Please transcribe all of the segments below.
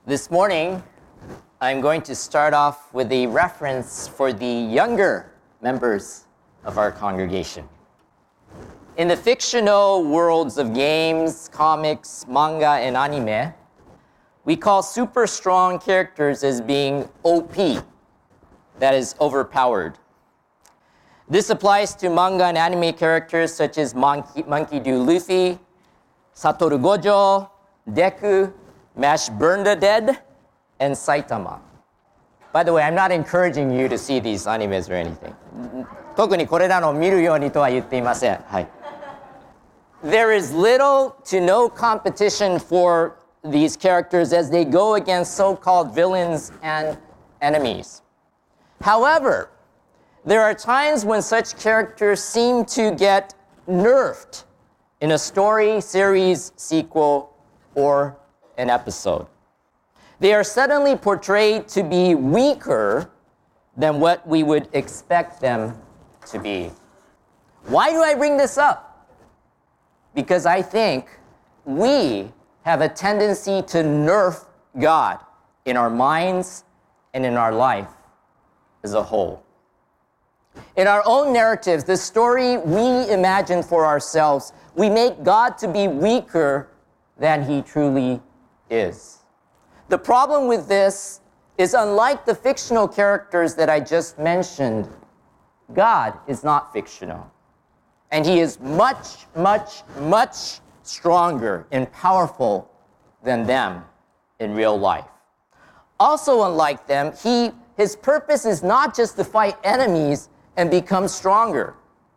This morning, I'm going to start off with a reference for the younger members of our congregation. In the fictional worlds of games, comics, manga, and anime, we call super strong characters as being OP, that is, overpowered. This applies to manga and anime characters such as Monkey D. Luffy, Satoru Gojo, Deku, Mash Burned-a-Dead, and Saitama. By the way, I'm not encouraging you to see these animes or anything. 特にこれらの見るようにとは言っていません。はい。There is little to no competition for these characters as they go against so-called villains and enemies. However, there are times when such characters seem to get nerfed in a story, series, sequel, or an episode. They are suddenly portrayed to be weaker than what we would expect them to be. Why do I bring this up? Because I think we have a tendency to nerf God in our minds and in our life as a whole. In our own narratives, the story we imagine for ourselves, we make God to be weaker than he truly is. The problem with this is, unlike the fictional characters that I just mentioned, God is not fictional. And he is much, much, much stronger and powerful than them in real life. Also, unlike them, his purpose is not just to fight enemies and become stronger.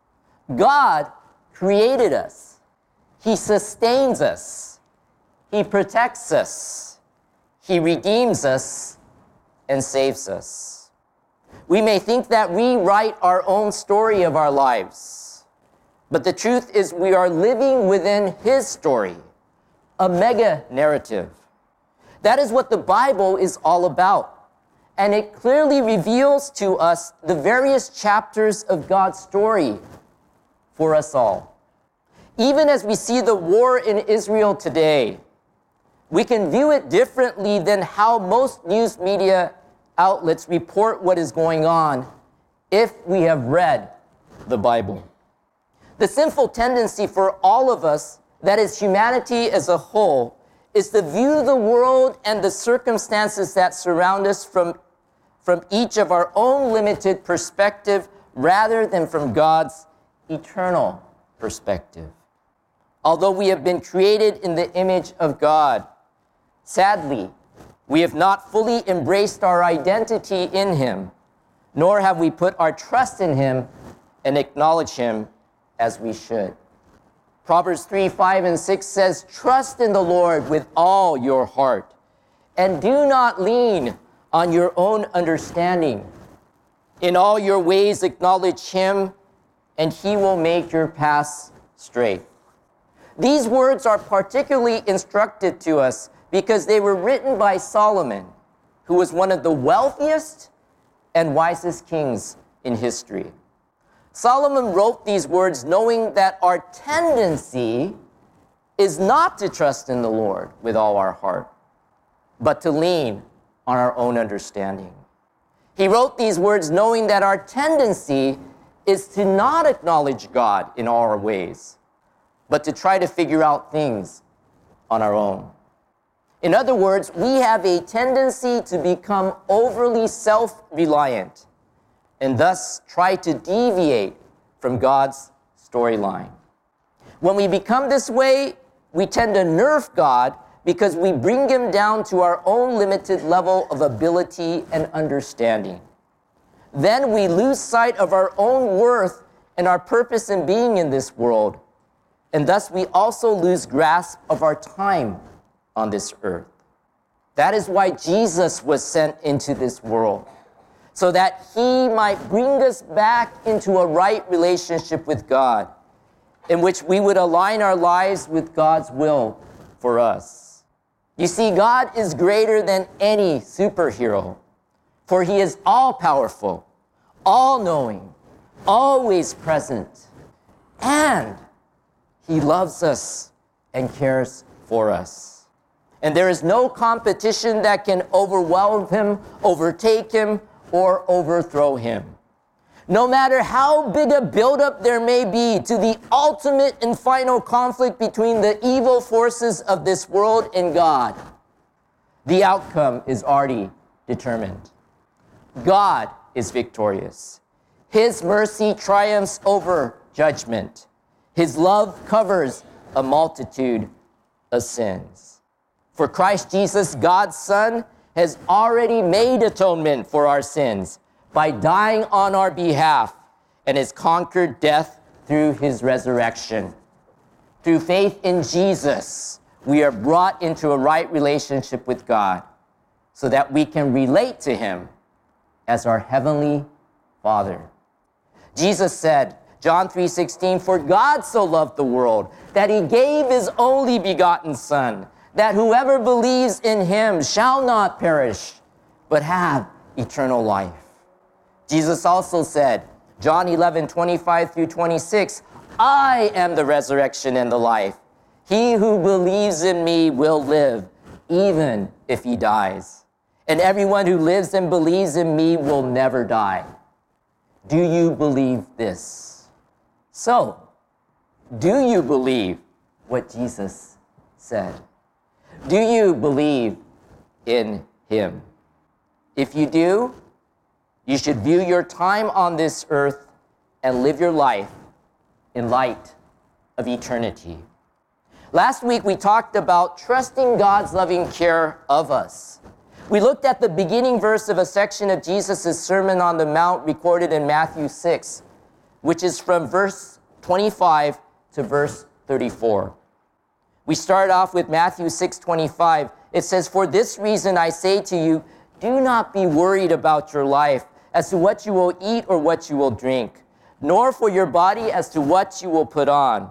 God created us. He sustains us. He protects us. He redeems us and saves us. We may think that we write our own story of our lives, but the truth is we are living within his story, a mega narrative. That is what the Bible is all about, and it clearly reveals to us the various chapters of God's story for us all. Even as we see the war in Israel today, we can view it differently than how most news media outlets report what is going on if we have read the Bible. The sinful tendency for all of us, that is humanity as a whole, is to view the world and the circumstances that surround us from each of our own limited perspective rather than from God's eternal perspective. Although we have been created in the image of God, sadly, we have not fully embraced our identity in him, nor have we put our trust in him and acknowledge him as we should. Proverbs 3, 5, and 6 says, "Trust in the Lord with all your heart, and do not lean on your own understanding. In all your ways acknowledge him, and he will make your paths straight." These words are particularly instructed to us because they were written by Solomon, who was one of the wealthiest and wisest kings in history. Solomon wrote these words knowing that our tendency is not to trust in the Lord with all our heart, but to lean on our own understanding. He wrote these words knowing that our tendency is to not acknowledge God in all our ways, but to try to figure out things on our own. In other words, we have a tendency to become overly self-reliant and thus try to deviate from God's storyline. When we become this way, we tend to nerf God because we bring him down to our own limited level of ability and understanding. Then we lose sight of our own worth and our purpose in being in this world, and thus we also lose grasp of our time on this earth. That is why Jesus was sent into this world, so that he might bring us back into a right relationship with God, in which we would align our lives with God's will for us. You see, God is greater than any superhero, for he is all-powerful, all-knowing, always present, and he loves us and cares for us. And there is no competition that can overwhelm him, overtake him, or overthrow him. No matter how big a buildup there may be to the ultimate and final conflict between the evil forces of this world and God, the outcome is already determined. God is victorious. His mercy triumphs over judgment. His love covers a multitude of sins. For Christ Jesus, God's Son, has already made atonement for our sins by dying on our behalf and has conquered death through his resurrection. Through faith in Jesus, we are brought into a right relationship with God so that we can relate to him as our heavenly Father. Jesus said, John 3:16, "For God so loved the world that he gave his only begotten Son, that whoever believes in him shall not perish, but have eternal life." Jesus also said, John 11:25-26, "I am the resurrection and the life. He who believes in me will live, even if he dies. And everyone who lives and believes in me will never die." Do you believe this? So, do you believe what Jesus said? Do you believe in him? If you do, you should view your time on this earth and live your life in light of eternity. Last week, we talked about trusting God's loving care of us. We looked at the beginning verse of a section of Jesus' Sermon on the Mount recorded in Matthew 6, which is from verse 25 to verse 34. We start off with Matthew 6:25. It says, "For this reason I say to you, do not be worried about your life as to what you will eat or what you will drink, nor for your body as to what you will put on.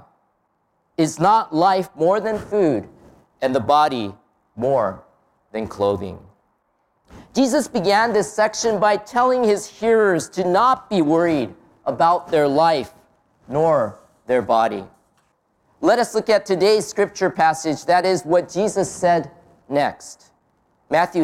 Is not life more than food, and the body more than clothing?" Jesus began this section by telling his hearers to not be worried about their life nor their body. Let us look at today's scripture passage. That is what Jesus said next. Matthew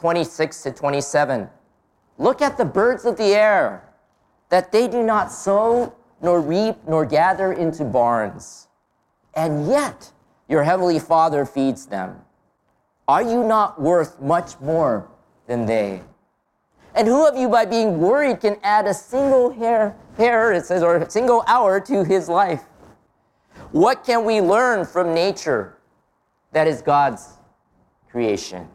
6:26-27. "Look at the birds of the air, that they do not sow, nor reap, nor gather into barns, and yet your heavenly Father feeds them. Are you not worth much more than they? And who of you, by being worried, can add a single hair, it says, or a single hour to his life? What can we learn from nature that is God's creation?"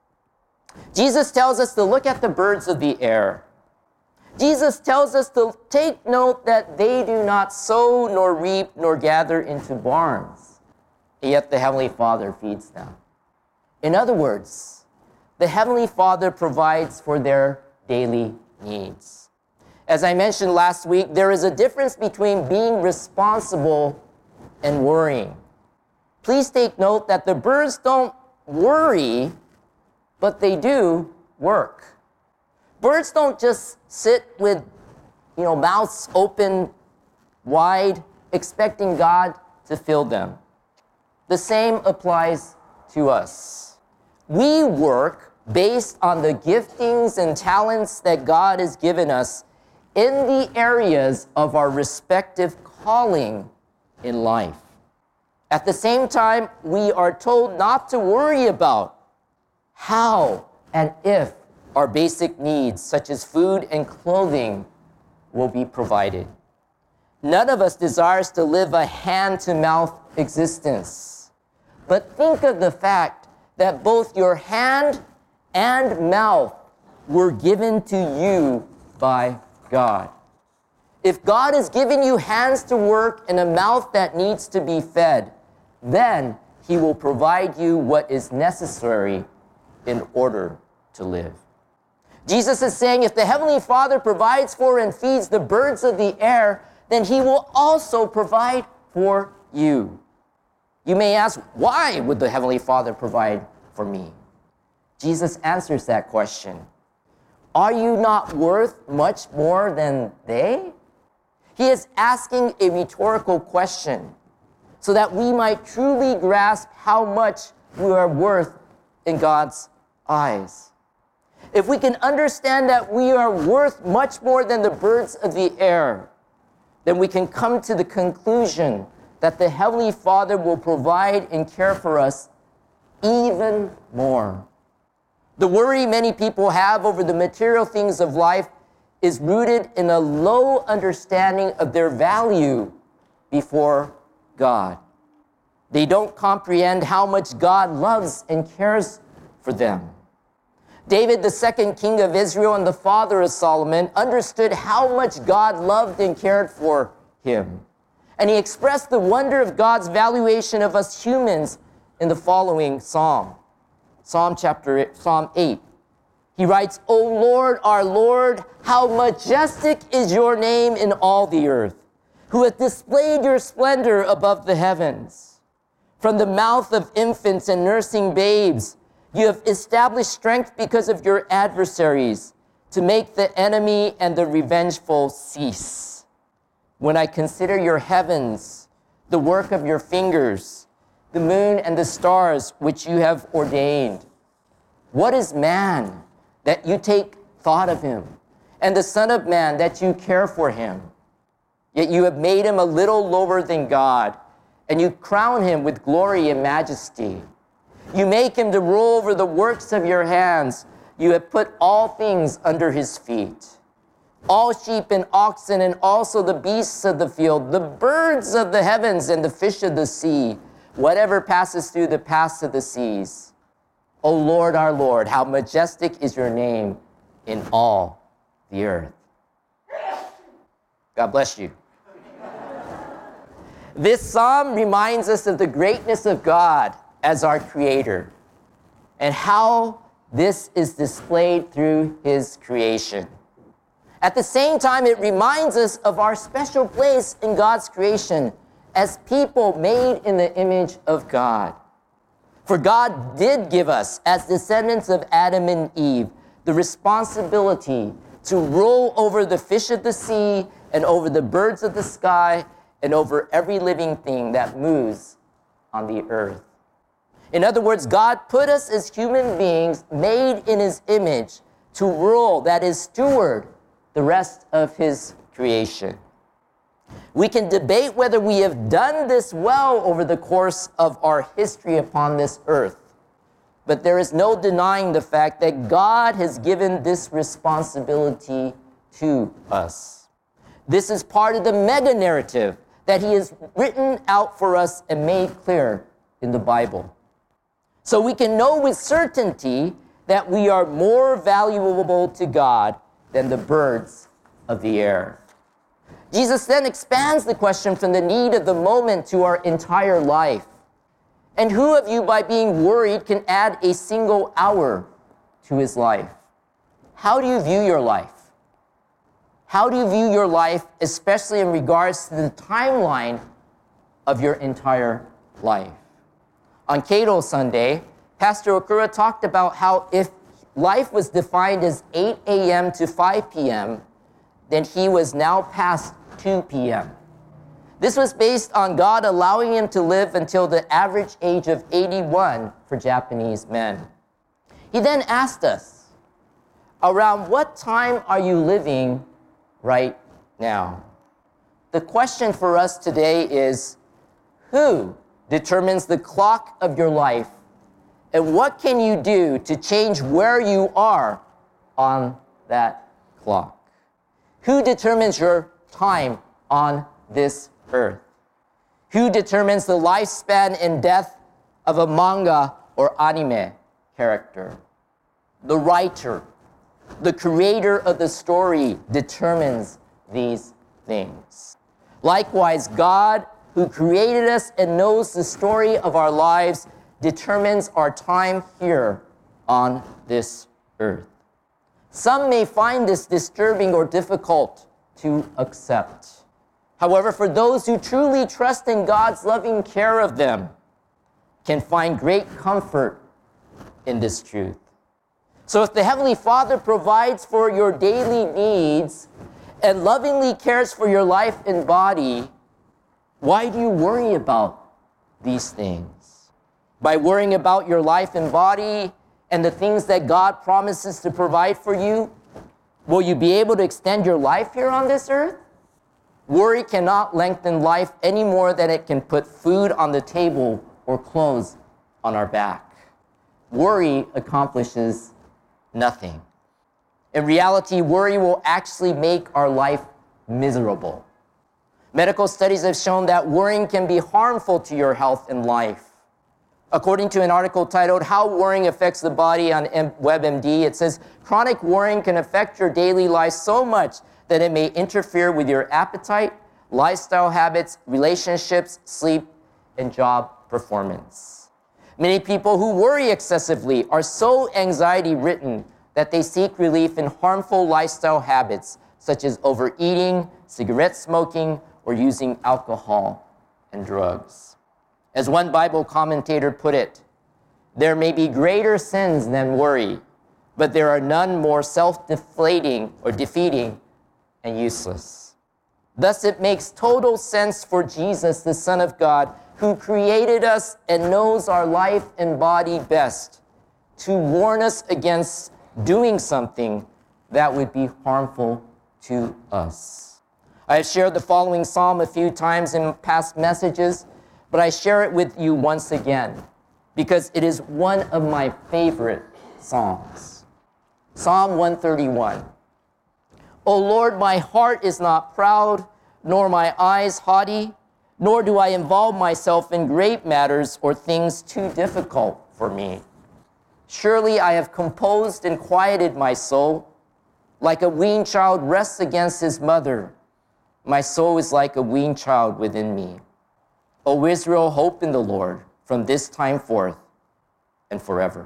Jesus tells us to look at the birds of the air. Jesus tells us to take note that they do not sow, nor reap, nor gather into barns, and yet the Heavenly Father feeds them. In other words, the Heavenly Father provides for their daily needs. As I mentioned last week, there is a difference between being responsible and worrying. Please take note that the birds don't worry, but they do work. Birds don't just sit with, mouths open wide, expecting God to fill them. The same applies to us. We work based on the giftings and talents that God has given us in the areas of our respective calling in life. At the same time, we are told not to worry about how and if our basic needs, such as food and clothing, will be provided. None of us desires to live a hand-to-mouth existence. But think of the fact that both your hand and mouth were given to you by God. If God has given you hands to work and a mouth that needs to be fed, then he will provide you what is necessary in order to live. Jesus is saying if the Heavenly Father provides for and feeds the birds of the air, then he will also provide for you. You may ask, why would the Heavenly Father provide for me? Jesus answers that question. Are you not worth much more than they? He is asking a rhetorical question so that we might truly grasp how much we are worth in God's eyes. If we can understand that we are worth much more than the birds of the air, then we can come to the conclusion that the Heavenly Father will provide and care for us even more. The worry many people have over the material things of life is rooted in a low understanding of their value before God. They don't comprehend how much God loves and cares for them. David, the second king of Israel and the father of Solomon, understood how much God loved and cared for him. And he expressed the wonder of God's valuation of us humans in the following psalm. Psalm 8. He writes, "O Lord, our Lord, how majestic is your name in all the earth, who hath displayed your splendor above the heavens. From the mouth of infants and nursing babes, you have established strength because of your adversaries, to make the enemy and the revengeful cease. When I consider your heavens, the work of your fingers, the moon and the stars which you have ordained. What is man that you take thought of him, and the Son of Man that you care for him? Yet you have made him a little lower than God, and you crown him with glory and majesty. You make him to rule over the works of your hands. You have put all things under his feet. All sheep and oxen, and also the beasts of the field, the birds of the heavens and the fish of the sea, whatever passes through the paths of the seas. O Lord, our Lord, how majestic is your name in all the earth." God bless you. This psalm reminds us of the greatness of God as our creator and how this is displayed through his creation. At the same time, it reminds us of our special place in God's creation as people made in the image of God. For God did give us, as descendants of Adam and Eve, the responsibility to rule over the fish of the sea and over the birds of the sky and over every living thing that moves on the earth. In other words, God put us as human beings made in his image to rule, that is, steward the rest of his creation. We can debate whether we have done this well over the course of our history upon this earth, but there is no denying the fact that God has given this responsibility to us. This is part of the mega narrative that he has written out for us and made clear in the Bible. So we can know with certainty that we are more valuable to God than the birds of the air. Jesus then expands the question from the need of the moment to our entire life. And who of you, by being worried, can add a single hour to his life? How do you view your life? How do you view your life, especially in regards to the timeline of your entire life? On Cato Sunday, Pastor Okura talked about how if life was defined as 8 a.m. to 5 p.m., then he was now past 2 p.m. This was based on God allowing him to live until the average age of 81 for Japanese men. He then asked us, around what time are you living right now? The question for us today is, who determines the clock of your life, and what can you do to change where you are on that clock? Who determines your time on this earth? Who determines the lifespan and death of a manga or anime character? The writer, the creator of the story, determines these things. Likewise, God, who created us and knows the story of our lives, determines our time here on this earth. Some may find this disturbing or difficult to accept. However, for those who truly trust in God's loving care of them, can find great comfort in this truth. So if the Heavenly Father provides for your daily needs and lovingly cares for your life and body, why do you worry about these things? By worrying about your life and body and the things that God promises to provide for you, will you be able to extend your life here on this earth? Worry cannot lengthen life any more than it can put food on the table or clothes on our back. Worry accomplishes nothing. In reality, worry will actually make our life miserable. Medical studies have shown that worrying can be harmful to your health and life. According to an article titled, How Worrying Affects the Body on WebMD, it says, chronic worrying can affect your daily life so much that it may interfere with your appetite, lifestyle habits, relationships, sleep, and job performance. Many people who worry excessively are so anxiety-ridden that they seek relief in harmful lifestyle habits, such as overeating, cigarette smoking, or using alcohol and drugs. As one Bible commentator put it, there may be greater sins than worry, but there are none more self-deflating or defeating and useless. Thus, it makes total sense for Jesus, the Son of God, who created us and knows our life and body best, to warn us against doing something that would be harmful to us. I have shared the following psalm a few times in past messages, but I share it with you once again because it is one of my favorite psalms. Psalm 131. O Lord, my heart is not proud, nor my eyes haughty, nor do I involve myself in great matters or things too difficult for me. Surely I have composed and quieted my soul. Like a weaned child rests against his mother, my soul is like a weaned child within me. O Israel, hope in the Lord from this time forth and forever.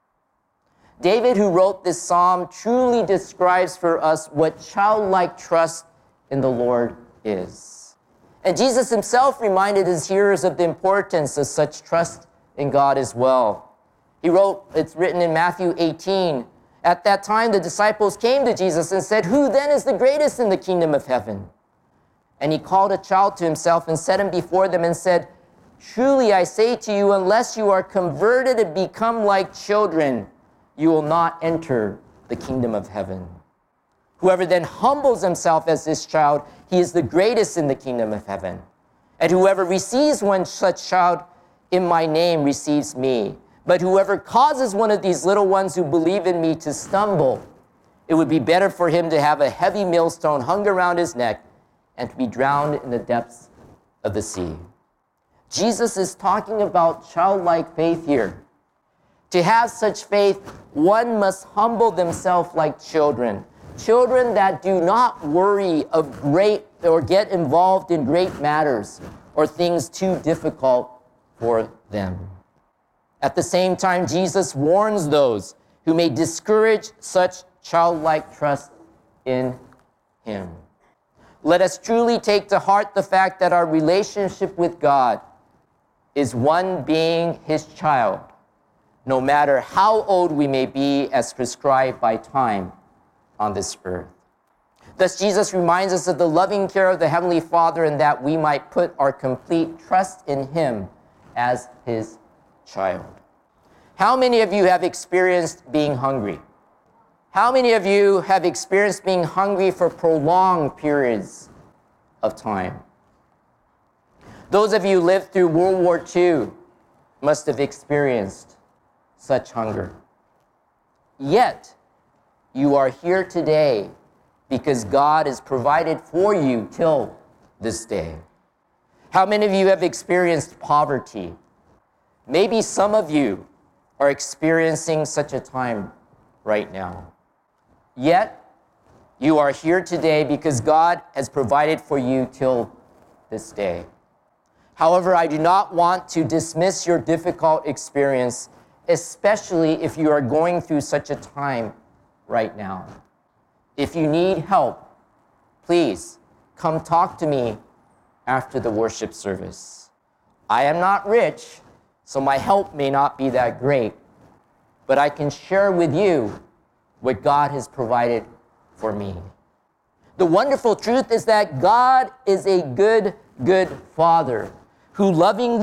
David, who wrote this psalm, truly describes for us what childlike trust in the Lord is. And Jesus himself reminded his hearers of the importance of such trust in God as well. He wrote, it's written in Matthew 18, at that time the disciples came to Jesus and said, who then is the greatest in the kingdom of heaven? And he called a child to himself and set him before them and said, truly I say to you, unless you are converted and become like children, you will not enter the kingdom of heaven. Whoever then humbles himself as this child, he is the greatest in the kingdom of heaven. And whoever receives one such child in my name receives me. But whoever causes one of these little ones who believe in me to stumble, it would be better for him to have a heavy millstone hung around his neck and to be drowned in the depths of the sea. Jesus is talking about childlike faith here. To have such faith, one must humble themselves like children. Children that do not worry of great or get involved in great matters or things too difficult for them. At the same time, Jesus warns those who may discourage such childlike trust in him. Let us truly take to heart the fact that our relationship with God is one being his child, no matter how old we may be as prescribed by time on this earth. Thus, Jesus reminds us of the loving care of the Heavenly Father and that we might put our complete trust in him as his child. How many of you have experienced being hungry? How many of you have experienced being hungry for prolonged periods of time? Those of you who lived through World War II must have experienced such hunger. Yet, you are here today because God has provided for you till this day. How many of you have experienced poverty? Maybe some of you are experiencing such a time right now. Yet, you are here today because God has provided for you till this day. However, I do not want to dismiss your difficult experience, especially if you are going through such a time right now. If you need help, please come talk to me after the worship service. I am not rich, so my help may not be that great, but I can share with you what God has provided for me. The wonderful truth is that God is a good Father who lovingly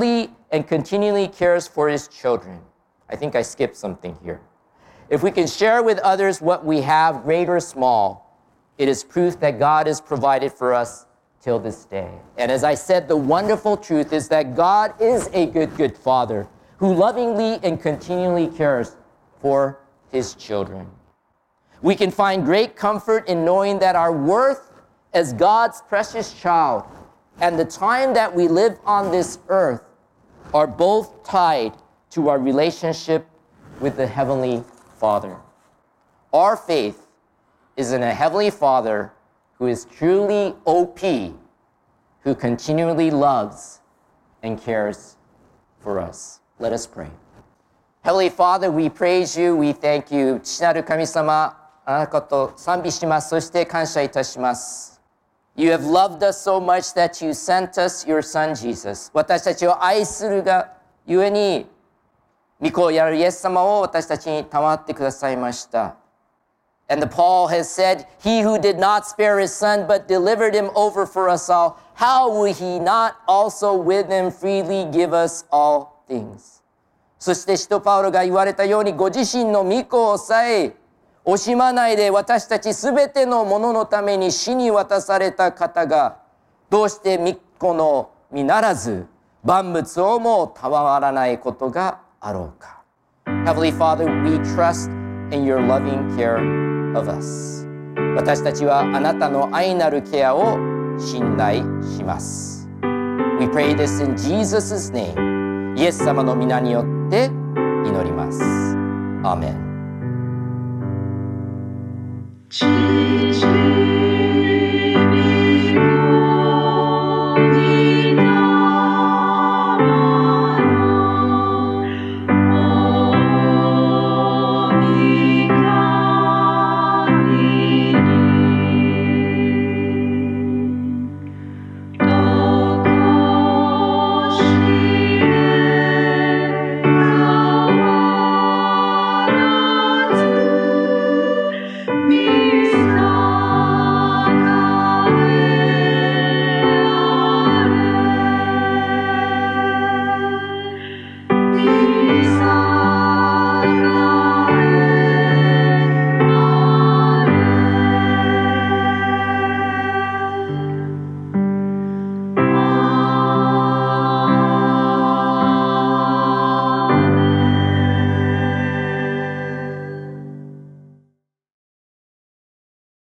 and continually cares for his children. I think I skipped something here. If we can share with others what we have, great or small, it is proof that God has provided for us till this day. And as I said, the wonderful truth is that God is a good Father who lovingly and continually cares for his children. We can find great comfort in knowing that our worth as God's precious child and the time that we live on this earth are both tied to our relationship with the Heavenly Father. Our faith is in a Heavenly Father who is truly OP, who continually loves and cares for us. Let us pray. Heavenly Father, we praise you, we thank you. 父なる神様、あなたのことを賛美します。そして感謝いたします。You have loved us so much that you sent us your son Jesus. 私たちを愛するがゆえに、御子やるイエス様を私たちに賜ってくださいました。And Paul has said, He who did not spare his son but delivered him over for us all, how will he not also with him freely give us all things? そして使徒パウロが言われたように、ご自身の御子をさえ惜しまないで私たちすべてのもののために死に渡された方が、どうして御子のみならず万物をも賜らないことがあろうか。Heavenly Father, we trust in your loving care of us. 私たちはあなたの愛なるケアを信頼します。We pray this in Jesus' name. イエス様の皆によって祈ります。アーメン。